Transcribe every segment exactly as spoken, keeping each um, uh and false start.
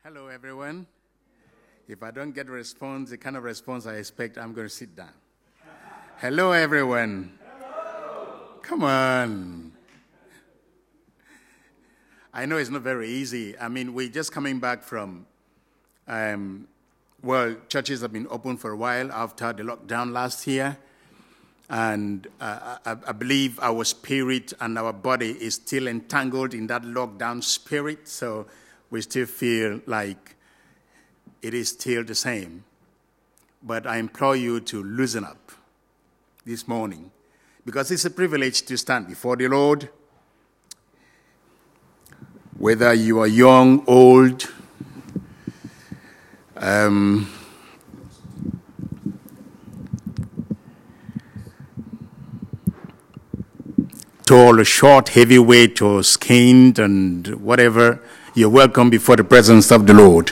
Hello, everyone. If I don't get a response, the kind of response I expect, I'm going to sit down. Hello, everyone. Hello. Come on. I know it's not very easy. I mean, we're just coming back from, um, well, churches have been open for a while after the lockdown last year. And uh, I, I believe our spirit and our body is still entangled in that lockdown spirit. So we still feel like it is still the same. But I implore you to loosen up this morning, because it's a privilege to stand before the Lord. Whether you are young, old, um, tall or short, heavyweight or skinned and whatever, you're welcome before the presence of the Lord.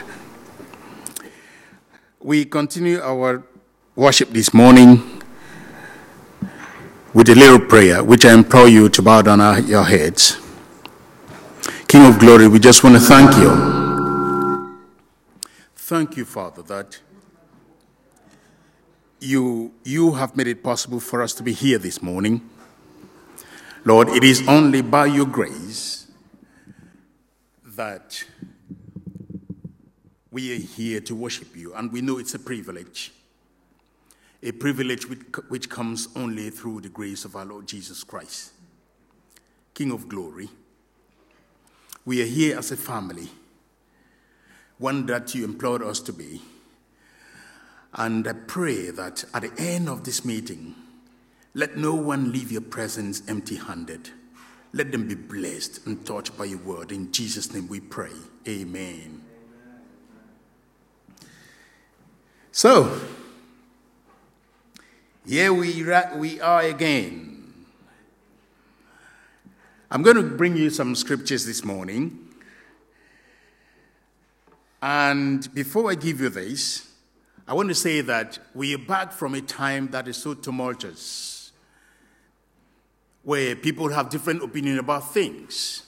We continue our worship this morning with a little prayer, which I implore you to bow down our, your heads. King of glory, we just want to thank you. Thank you, Father, that you, you have made it possible for us to be here this morning. Lord, it is only by your grace that we are here to worship you, and we know it's a privilege, a privilege which, which comes only through the grace of our Lord Jesus Christ. King of glory, we are here as a family, one that you implored us to be, and I pray that at the end of this meeting, let no one leave your presence empty-handed. Let them be blessed and touched by your word. In Jesus' name we pray. Amen. So, here we, we are again. I'm going to bring you some scriptures this morning. And before I give you this, I want to say that we are back from a time that is so tumultuous, where people have different opinions about things.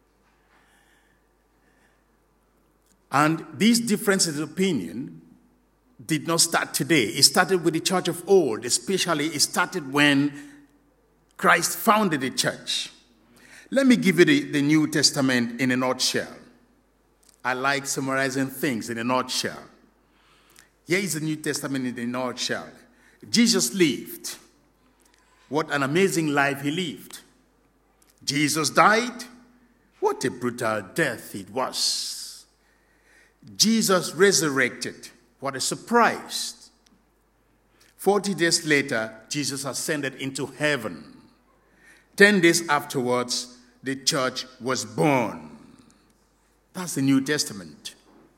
And these differences of opinion did not start today. It started with the church of old, especially it started when Christ founded the church. Let me give you the, the New Testament in a nutshell. I like summarizing things in a nutshell. Here is the New Testament in a nutshell. Jesus lived. What an amazing life he lived. Jesus died. What a brutal death it was. Jesus resurrected. What a surprise. Forty days later, Jesus ascended into heaven. Ten days afterwards, the church was born. That's the New Testament.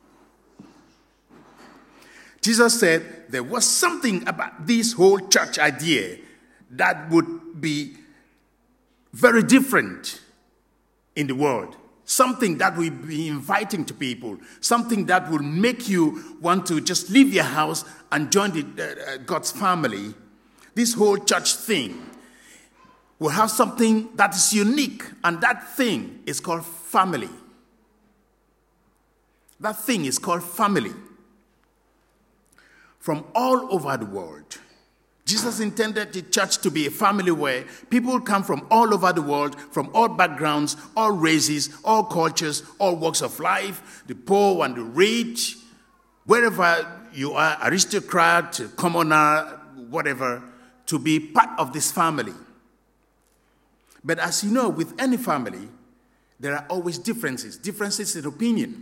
Jesus said there was something about this whole church idea that would be very different in the world. Something that will be inviting to people. Something that will make you want to just leave your house and join the, uh, God's family. This whole church thing will have something that is unique, and that thing is called family. That thing is called family. From all over the world, Jesus intended the church to be a family where people come from all over the world, from all backgrounds, all races, all cultures, all walks of life, the poor and the rich, wherever you are, aristocrat, commoner, whatever, to be part of this family. But as you know, with any family, there are always differences, differences in opinion.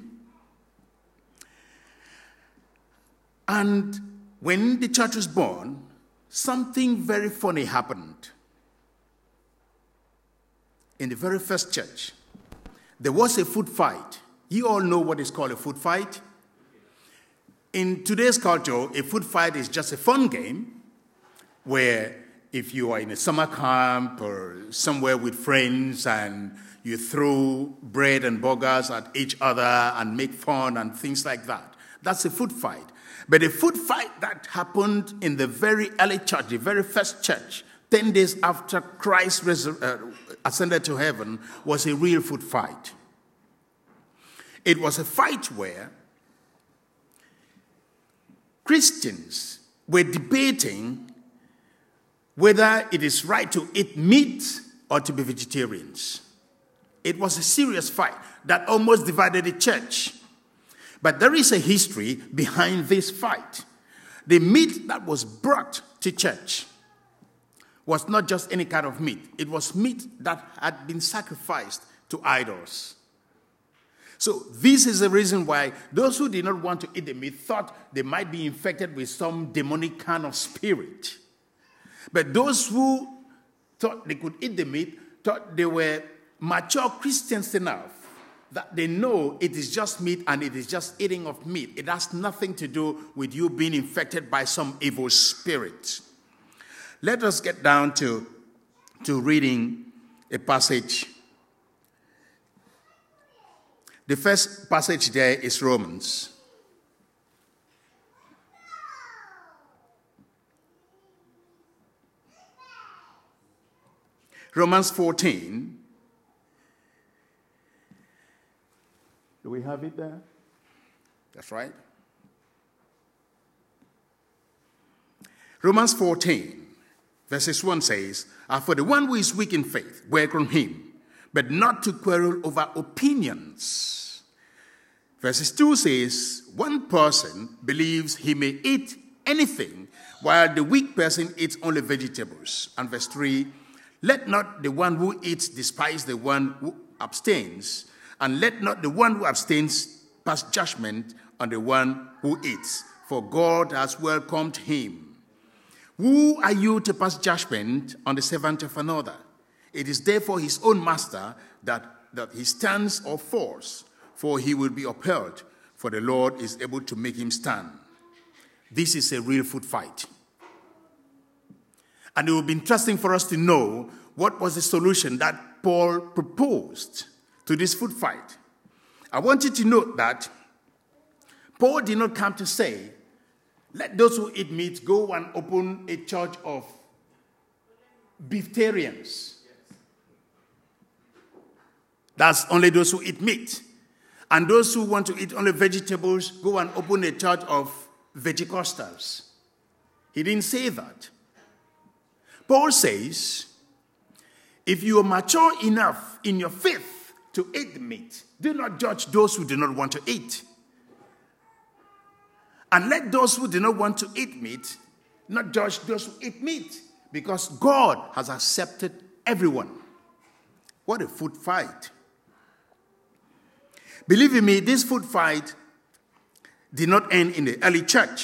And when the church was born, something very funny happened. In the very first church, there was a food fight. You all know what is called a food fight. In today's culture, a food fight is just a fun game where if you are in a summer camp or somewhere with friends and you throw bread and burgers at each other and make fun and things like that, that's a food fight. But a food fight that happened in the very early church, the very first church, ten days after Christ resur- uh, ascended to heaven, was a real food fight. It was a fight where Christians were debating whether it is right to eat meat or to be vegetarians. It was a serious fight that almost divided the church. But there is a history behind this fight. The meat that was brought to church was not just any kind of meat. It was meat that had been sacrificed to idols. So this is the reason why those who did not want to eat the meat thought they might be infected with some demonic kind of spirit. But those who thought they could eat the meat thought they were mature Christians enough that they know it is just meat and it is just eating of meat. It has nothing to do with you being infected by some evil spirit. Let us get down to, to reading a passage. The first passage there is Romans. Romans fourteen. Do we have it there? That's right. Romans fourteen, verses one says, "And for the one who is weak in faith, welcome him, but not to quarrel over opinions." Verses two says, "One person believes he may eat anything, while the weak person eats only vegetables." And verse three, "Let not the one who eats despise the one who abstains, and let not the one who abstains pass judgment on the one who eats, for God has welcomed him. Who are you to pass judgment on the servant of another? It is therefore his own master that, that he stands or falls, for he will be upheld, for the Lord is able to make him stand." This is a real food fight. And it will be interesting for us to know what was the solution that Paul proposed to this food fight. I want you to note that Paul did not come to say, let those who eat meat go and open a church of beeftarians. That's only those who eat meat. And those who want to eat only vegetables, go and open a church of vegicostals. He didn't say that. Paul says, if you are mature enough in your faith to eat the meat, do not judge those who do not want to eat. And let those who do not want to eat meat not judge those who eat meat, because God has accepted everyone. What a food fight. Believe in me, this food fight did not end in the early church.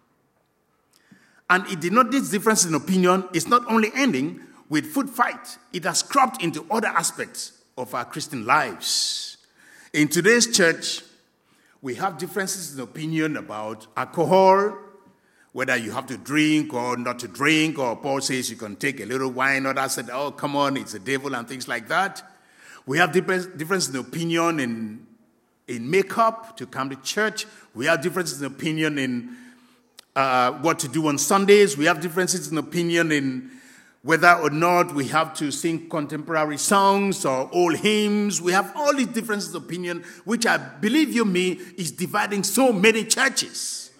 And it did not, this difference in opinion is not only ending with food fight, it has cropped into other aspects of our Christian lives. In today's church, we have differences in opinion about alcohol, whether you have to drink or not to drink, or Paul says you can take a little wine, others said, oh, come on, it's the devil, and things like that. We have differences in opinion in, in makeup to come to church. We have differences in opinion in uh, what to do on Sundays. We have differences in opinion in whether or not we have to sing contemporary songs or old hymns. We have all these differences of opinion, which I believe you me is dividing so many churches.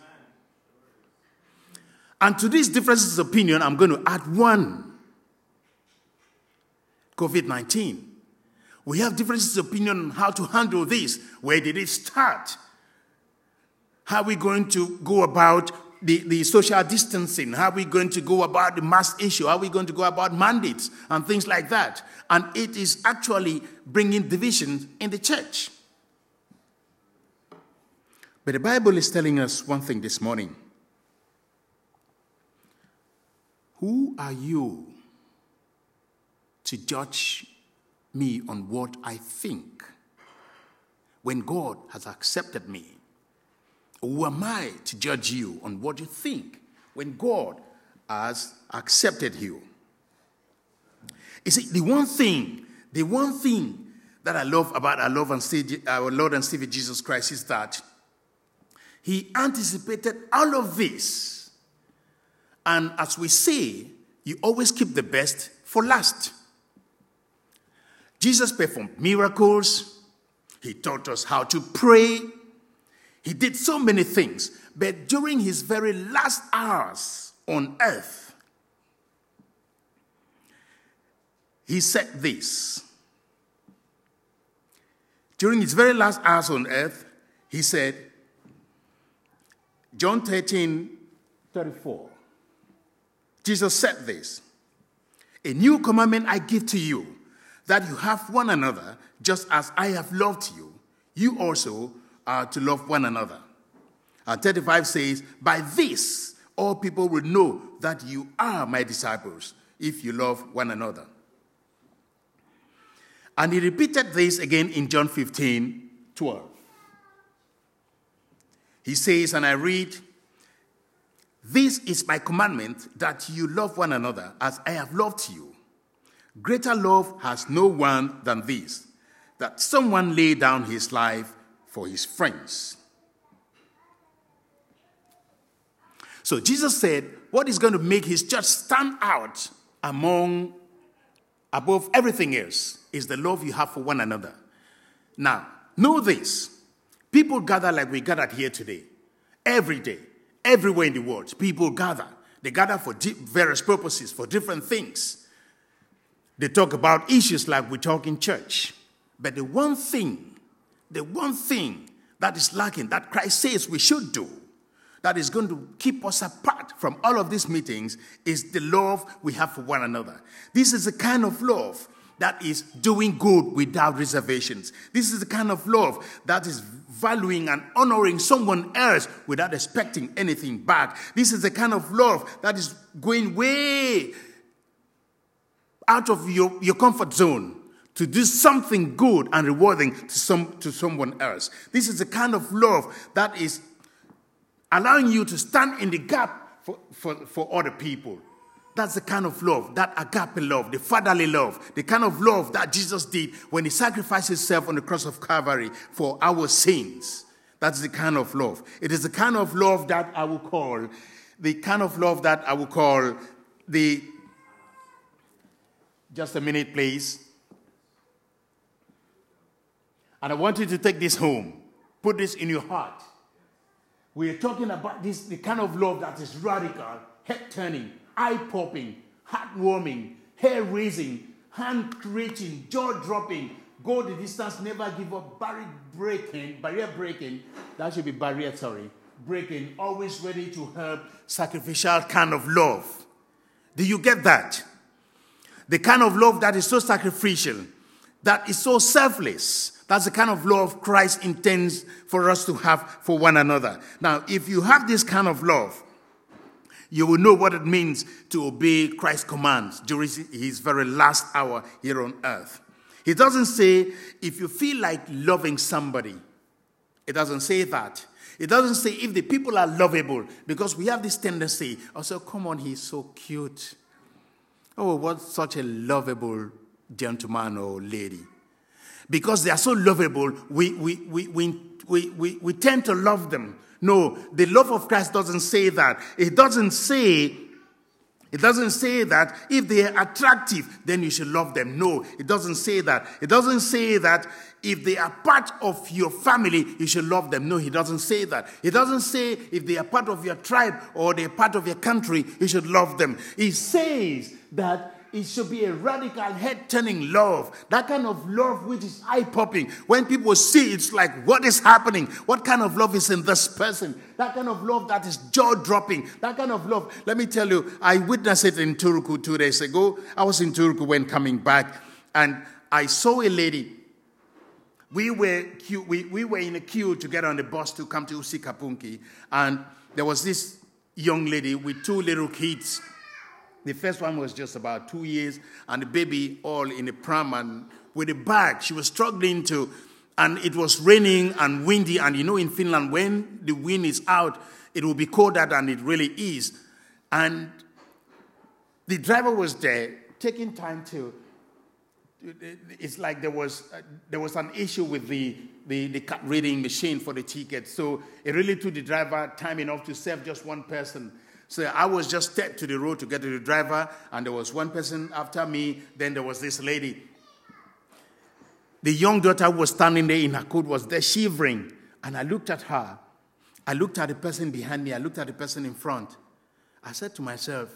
And to these differences of opinion, I'm going to add one. covid nineteen. We have differences of opinion on how to handle this. Where did it start? How are we going to go about the, the social distancing? How are we going to go about the mask issue? How are we going to go about mandates and things like that? And it is actually bringing division in the church. But the Bible is telling us one thing this morning. Who are you to judge me on what I think when God has accepted me? Who am I to judge you on what you think when God has accepted you? You see, the one thing, the one thing that I love about our Lord and Savior, our Lord and Savior Jesus Christ is that he anticipated all of this. And as we say, you always keep the best for last. Jesus performed miracles. He taught us how to pray. He did so many things. But during his very last hours on earth, he said this. During his very last hours on earth, he said, John thirteen, thirty-four, Jesus said this, "A new commandment I give to you, that you have one another, just as I have loved you. You also are to love one another." And thirty-five says, "By this, all people will know that you are my disciples, if you love one another." And he repeated this again in John fifteen, twelve. He says, and I read, "This is my commandment, that you love one another as I have loved you. Greater love has no one than this, that someone lay down his life for his friends." So Jesus said, what is going to make his church stand out among, above everything else, is the love you have for one another. Now, know this. People gather like we gathered here today. Every day, everywhere in the world, people gather. They gather for various purposes, for different things. They talk about issues like we talk in church. But the one thing, the one thing that is lacking, that Christ says we should do, that is going to keep us apart from all of these meetings, is the love we have for one another. This is the kind of love that is doing good without reservations. This is the kind of love that is valuing and honoring someone else without expecting anything back. This is the kind of love that is going way out of your, your comfort zone to do something good and rewarding to some to someone else. This is the kind of love that is allowing you to stand in the gap for, for, for other people. That's the kind of love, that agape love, the fatherly love, the kind of love that Jesus did when he sacrificed himself on the cross of Calvary for our sins. That's the kind of love. It is the kind of love that I will call, the kind of love that I will call the, just a minute please. And I want you to take this home. Put this in your heart. We are talking about this, the kind of love that is radical, head-turning, eye-popping, heart-warming, hair-raising, hand-reaching, jaw-dropping, go the distance, never give up, barrier-breaking, barrier-breaking, that should be barrier, sorry, breaking, always ready to help, sacrificial kind of love. Do you get that? The kind of love that is so sacrificial, that is so selfless. That's the kind of love Christ intends for us to have for one another. Now, if you have this kind of love, you will know what it means to obey Christ's commands during his very last hour here on earth. He doesn't say, if you feel like loving somebody. It doesn't say that. It doesn't say if the people are lovable, because we have this tendency, oh, so come on, he's so cute. Oh, what such a lovable gentleman or lady. Because they are so lovable, we, we, we, we, we, we, we tend to love them. No, the love of Christ doesn't say that. It doesn't say, it doesn't say that if they are attractive, then you should love them. No, it doesn't say that. It doesn't say that if they are part of your family, you should love them. No, he doesn't say that. It doesn't say if they are part of your tribe or they are part of your country, you should love them. He says that it should be a radical, head-turning love. That kind of love which is eye-popping. When people see, it's like, what is happening? What kind of love is in this person? That kind of love that is jaw-dropping. That kind of love. Let me tell you, I witnessed it in Turku two days ago. I was in Turku when coming back, and I saw a lady. We were, queue, we, we were in a queue to get on the bus to come to Usikapunki, and there was this young lady with two little kids. The first one was just about two years, and the baby all in a pram and with a bag. She was struggling to, and it was raining and windy. And you know, in Finland, when the wind is out, it will be colder than it really is. And the driver was there, taking time to. It's like there was uh, there was an issue with the the, the card reading machine for the ticket, so it really took the driver time enough to serve just one person. So I was just stepped to the road to get to the driver, and there was one person after me. Then there was this lady. The young daughter who was standing there in her coat was there shivering. And I looked at her, I looked at the person behind me. I looked at the person in front. I said to myself,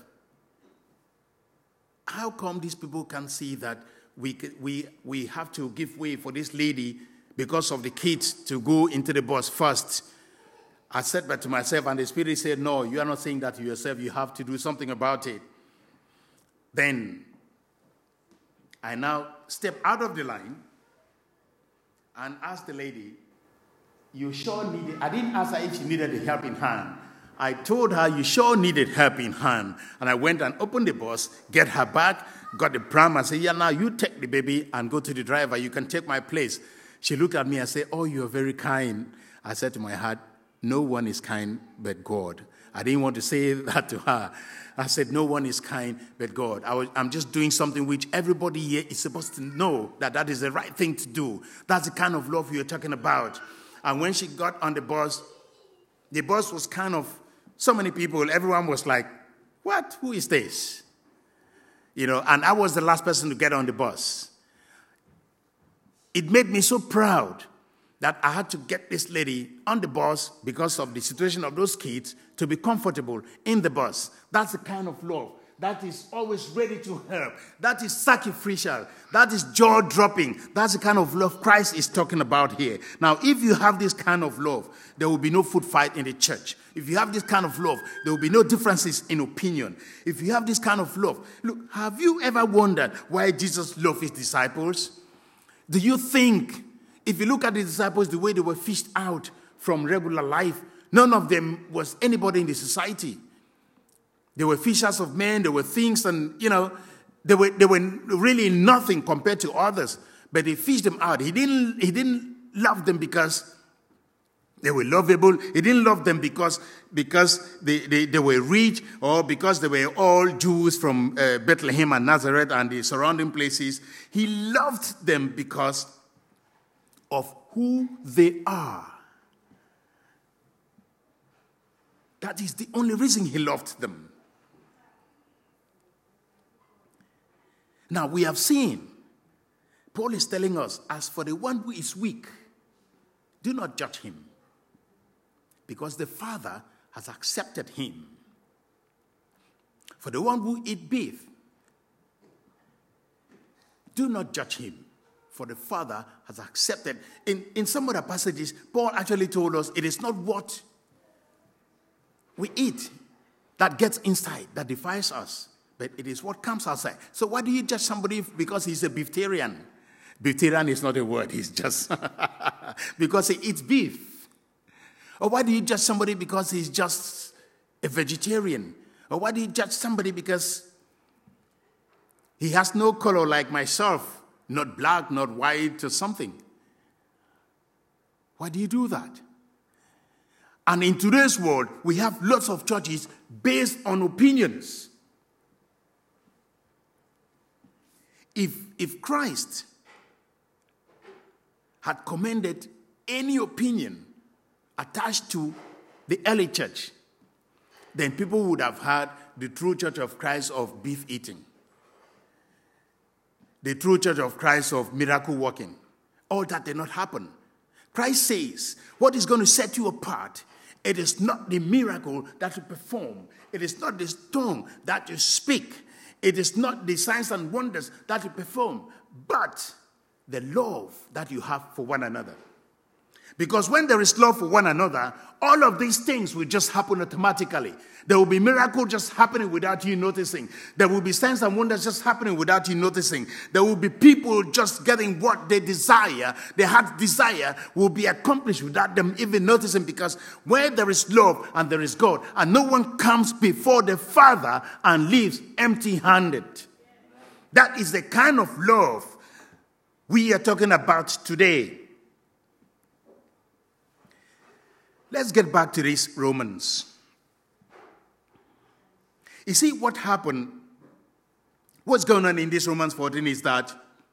how come these people can't see that we, we, we have to give way for this lady because of the kids to go into the bus first? I said that to myself, and the Spirit said, no, you are not saying that to yourself. You have to do something about it. Then I now step out of the line and asked the lady, you sure needed, I didn't ask her if she needed a helping hand. I told her, you sure needed helping hand. And I went and opened the bus, get her back, got the pram, and said, yeah, now you take the baby and go to the driver. You can take my place. She looked at me and said, oh, you're very kind. I said to my heart, no one is kind but God. I didn't want to say that to her. I said, no one is kind but God. I was, I'm just doing something which everybody here is supposed to know that that is the right thing to do. That's the kind of love you're talking about. And when she got on the bus, the bus was kind of, so many people, everyone was like, what? Who is this? You know, and I was the last person to get on the bus. It made me so proud that I had to get this lady on the bus because of the situation of those kids to be comfortable in the bus. That's the kind of love that is always ready to help. That is sacrificial. That is jaw-dropping. That's the kind of love Christ is talking about here. Now, if you have this kind of love, there will be no food fight in the church. If you have this kind of love, there will be no differences in opinion. If you have this kind of love, look, have you ever wondered why Jesus loved his disciples? Do you think, if you look at the disciples, the way they were fished out from regular life, none of them was anybody in the society. They were fishers of men, they were things, and, you know, they were, they were really nothing compared to others. But he fished them out. He didn't, he didn't love them because they were lovable. He didn't love them because, because they, they, they were rich or because they were all Jews from uh, Bethlehem and Nazareth and the surrounding places. He loved them because of who they are. That is the only reason he loved them. Now, we have seen, Paul is telling us, as for the one who is weak, do not judge him, because the Father has accepted him. For the one who eats beef, do not judge him, for the Father has accepted. In, in some other passages, Paul actually told us it is not what we eat that gets inside, that defiles us, but it is what comes outside. So why do you judge somebody because he's a beeftarian? Beeftarian is not a word, he's just because he eats beef. Or why do you judge somebody because he's just a vegetarian? Or why do you judge somebody because he has no color like myself, not black, not white, or something? Why do you do that? And in today's world, we have lots of churches based on opinions. If, if Christ had commended any opinion attached to the early church, then people would have had the true church of Christ of beef eating, the true church of Christ of miracle working. All that did not happen. Christ says, what is going to set you apart, it is not the miracle that you perform. It is not the tongue that you speak. It is not the signs and wonders that you perform, but the love that you have for one another. Because when there is love for one another, all of these things will just happen automatically. There will be miracles just happening without you noticing. There will be signs and wonders just happening without you noticing. There will be people just getting what they desire. Their heart's desire will be accomplished without them even noticing, because where there is love and there is God, and no one comes before the Father and leaves empty-handed. That is the kind of love we are talking about today. Let's get back to these Romans. You see, what happened, what's going on in this Romans fourteen is that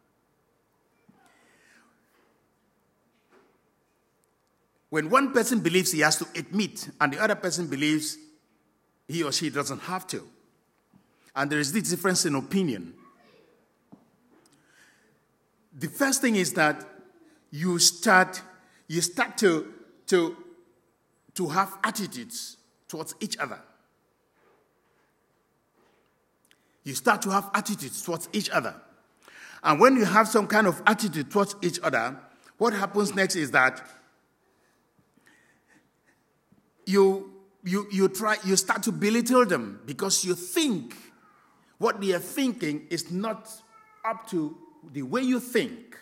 when one person believes he has to eat meat and the other person believes he or she doesn't have to, and there is this difference in opinion, the first thing is that you start, you start to, to to have attitudes towards each other. You start to have attitudes towards each other. And when you have some kind of attitude towards each other, what happens next is that you, you, you, try, you start to belittle them because you think what they are thinking is not up to the way you think.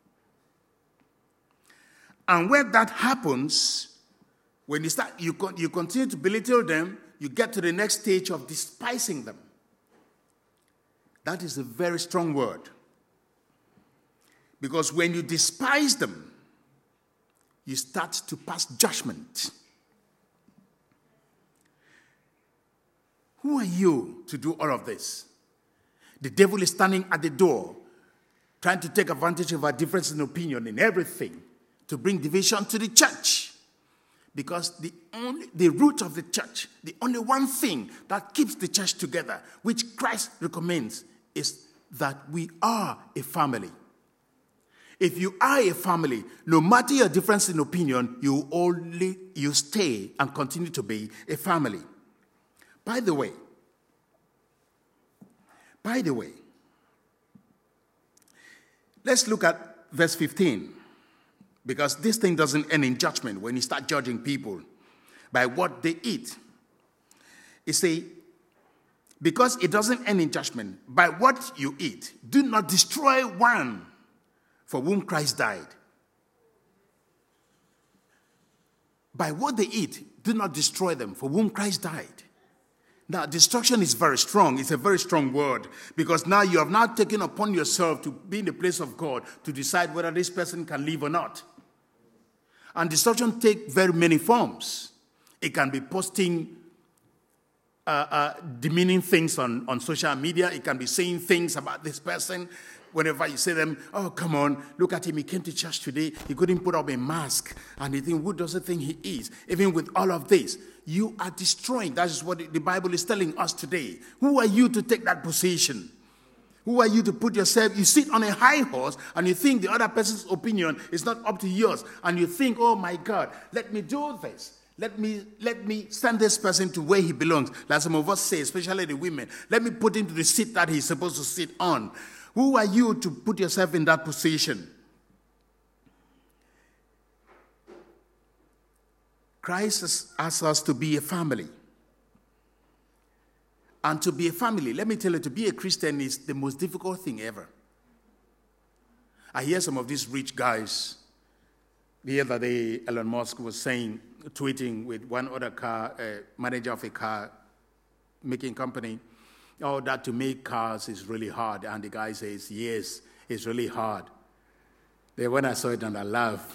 And when that happens, when you start, you, con- you continue to belittle them, you get to the next stage of despising them. That is a very strong word. Because when you despise them, you start to pass judgment. Who are you to do all of this? The devil is standing at the door, trying to take advantage of our difference in opinion in everything to bring division to the church. Because the only the root of the church, the only one thing that keeps the church together, which Christ recommends, is that we are a family. If you are a family, no matter your difference in opinion, you only you stay and continue to be a family. By the way, by the way, let's look at verse fifteen, because this thing doesn't end in judgment when you start judging people by what they eat. It says, because it doesn't end in judgment, by what you eat, do not destroy one for whom Christ died. By what they eat, do not destroy them for whom Christ died. Now, destruction is very strong. It's a very strong word, because now you have now taken upon yourself to be in the place of God to decide whether this person can live or not. And destruction takes very many forms. It can be posting uh, uh, demeaning things on, on social media. It can be saying things about this person. Whenever you say them, oh, come on, look at him. He came to church today. He couldn't put up a mask. And you think, who does it think he is? Even with all of this, you are destroying. That is what the Bible is telling us today. Who are you to take that position? Who are you to put yourself? You sit on a high horse and you think the other person's opinion is not up to yours. And you think, oh, my God, let me do this. Let me let me send this person to where he belongs. Like some of us say, especially the women. Let me put him to the seat that he's supposed to sit on. Who are you to put yourself in that position? Christ asks us to be a family. And to be a family, let me tell you, to be a Christian is the most difficult thing ever. I hear some of these rich guys. The other day, Elon Musk was saying, tweeting with one other car, uh, manager of a car making company, oh, that to make cars is really hard. And the guy says, yes, it's really hard. Then when I saw it, and I laughed.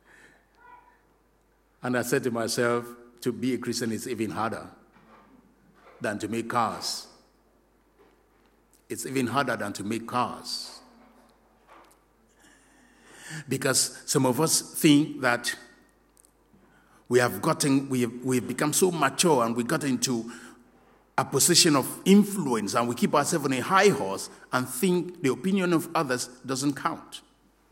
And I said to myself, to be a Christian is even harder than to make cars. It's even harder than to make cars. Because some of us think that we have gotten, we have, we have become so mature and we got into a position of influence and we keep ourselves on a high horse and think the opinion of others doesn't count.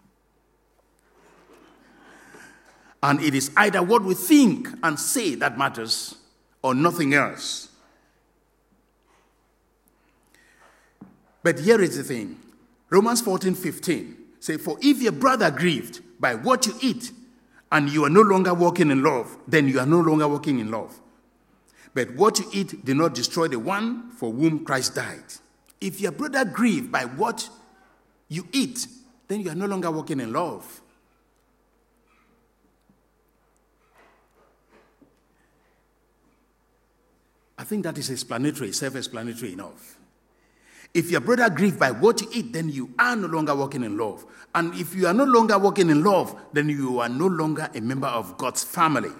And it is either what we think and say that matters or nothing else. But here is the thing. Romans fourteen fifteen says, for if your brother grieved by what you eat and you are no longer walking in love, then you are no longer walking in love. But what you eat do not destroy the one for whom Christ died. If your brother grieved by what you eat, then you are no longer walking in love. I think that is explanatory, self-explanatory enough. If your brother grieves by what you eat, then you are no longer walking in love. And if you are no longer walking in love, then you are no longer a member of God's family.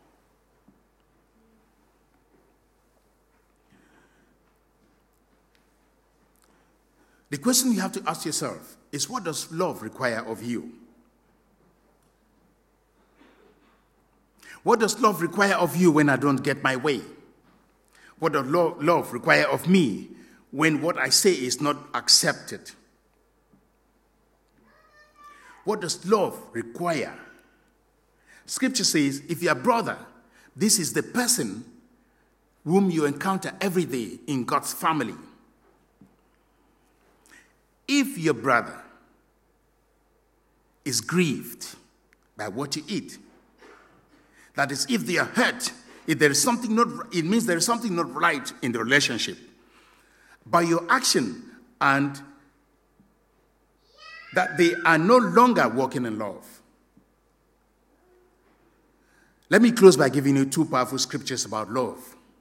The question you have to ask yourself is, what does love require of you? What does love require of you when I don't get my way? What does lo- love require of me when what I say is not accepted? What does love require? Scripture says, if your brother, This is the person whom you encounter every day in God's family. If your brother is grieved by what you eat, that is, if they are hurt, if there is something not, it means there is something not right in the relationship. By your action, and that they are no longer walking in love. Let me close by giving you two powerful scriptures about love.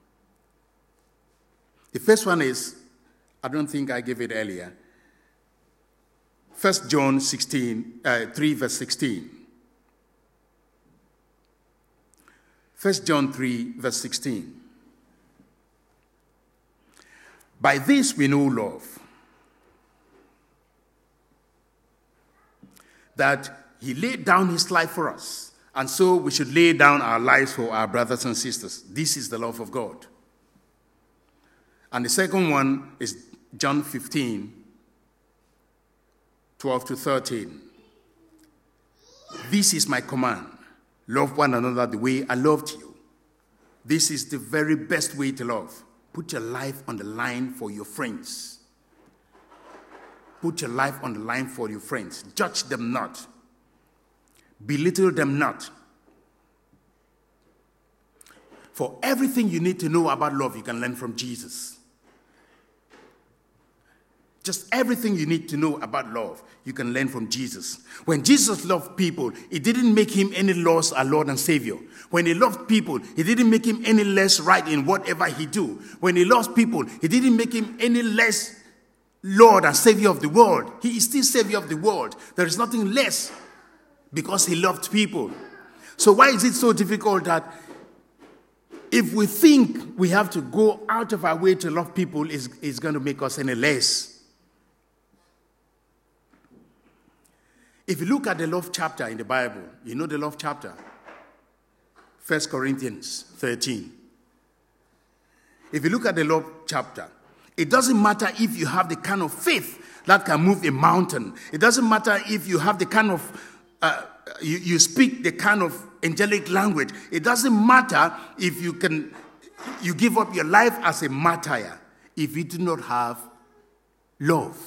The first one is, I don't think I gave it earlier, First John sixteen, uh, three, verse sixteen. First John three, verse sixteen. By this we know love, that he laid down his life for us, and so we should lay down our lives for our brothers and sisters. This is the love of God. And the second one is John fifteen, twelve to thirteen. This is my command. Love one another the way I loved you. This is the very best way to love. Put your life on the line for your friends. Put your life on the line for your friends. Judge them not. Belittle them not. For everything you need to know about love, you can learn from Jesus. Just everything you need to know about love, you can learn from Jesus. When Jesus loved people, it didn't make him any less our Lord and Savior. When he loved people, it didn't make him any less right in whatever he do. When he loves people, it didn't make him any less Lord and Savior of the world. He is still Savior of the world. There is nothing less because he loved people. So why is it so difficult that if we think we have to go out of our way to love people, it's, it's going to make us any less? If you look at the love chapter in the Bible, you know the love chapter, First Corinthians thirteen. If you look at the love chapter, it doesn't matter if you have the kind of faith that can move a mountain. It doesn't matter if you have the kind of, uh, you, you speak the kind of angelic language. It doesn't matter if you can, you give up your life as a martyr if you do not have love.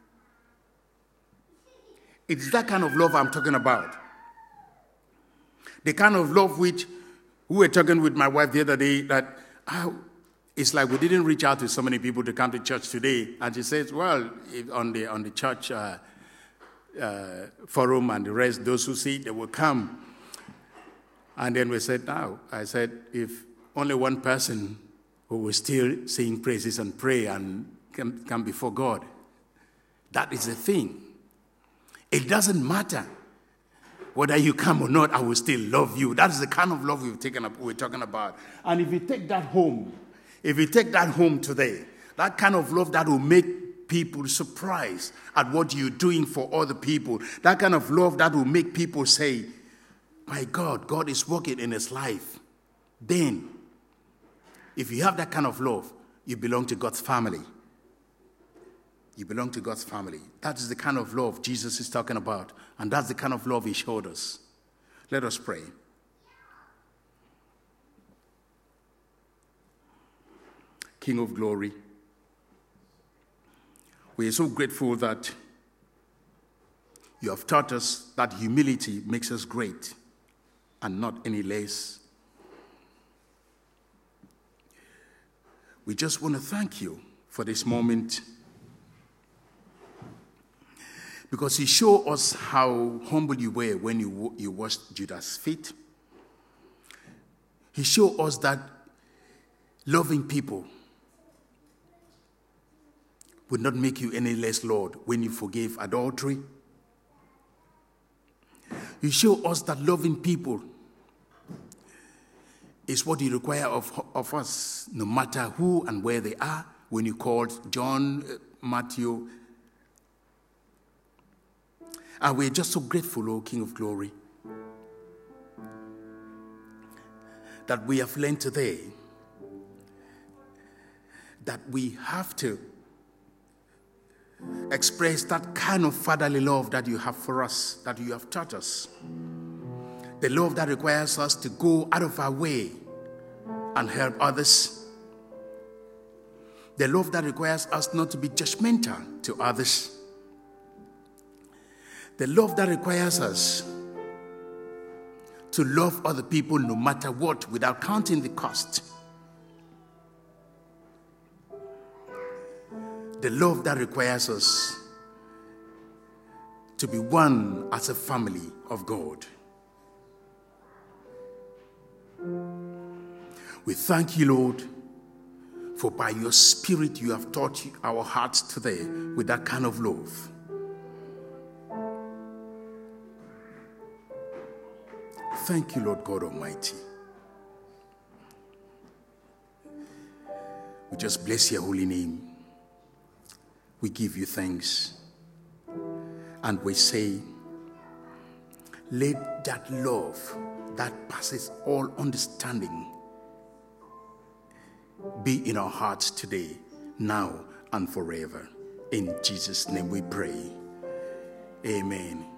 It's that kind of love I'm talking about. The kind of love which we were talking with my wife the other day, that oh, it's like we didn't reach out to so many people to come to church today. And she says, well, if on the on the church uh, uh, forum and the rest, those who see, they will come. And then we said, now, I said, if only one person who will still sing praises and pray and come, come before God, that is the thing. It doesn't matter whether you come or not, I will still love you. That is the kind of love we've taken up, we're talking about. And if you take that home, if you take that home today, that kind of love that will make people surprised at what you're doing for other people, that kind of love that will make people say, my God, God is working in his life. Then, if you have that kind of love, you belong to God's family. You belong to God's family. That is the kind of love Jesus is talking about. And that's the kind of love he showed us. Let us pray. King of glory, we are so grateful that you have taught us that humility makes us great and not any less. We just want to thank you for this moment, because you show us how humble you were when you, you washed Judas' feet. He showed us that loving people would not make you any less Lord when you forgave adultery. You show us that loving people is what you require of, of us, no matter who and where they are. When you called John, Matthew, and we're just so grateful, O King of Glory, that we have learned today that we have to express that kind of fatherly love that you have for us, that you have taught us. The love that requires us to go out of our way and help others. The love that requires us not to be judgmental to others. The love that requires us to love other people no matter what, without counting the cost. The love that requires us to be one as a family of God. We thank you, Lord, for by your Spirit you have taught our hearts today with that kind of love. Thank you, Lord God Almighty. We just bless your holy name. We give you thanks. And we say, let that love that passes all understanding be in our hearts today, now and forever. In Jesus' name we pray. Amen.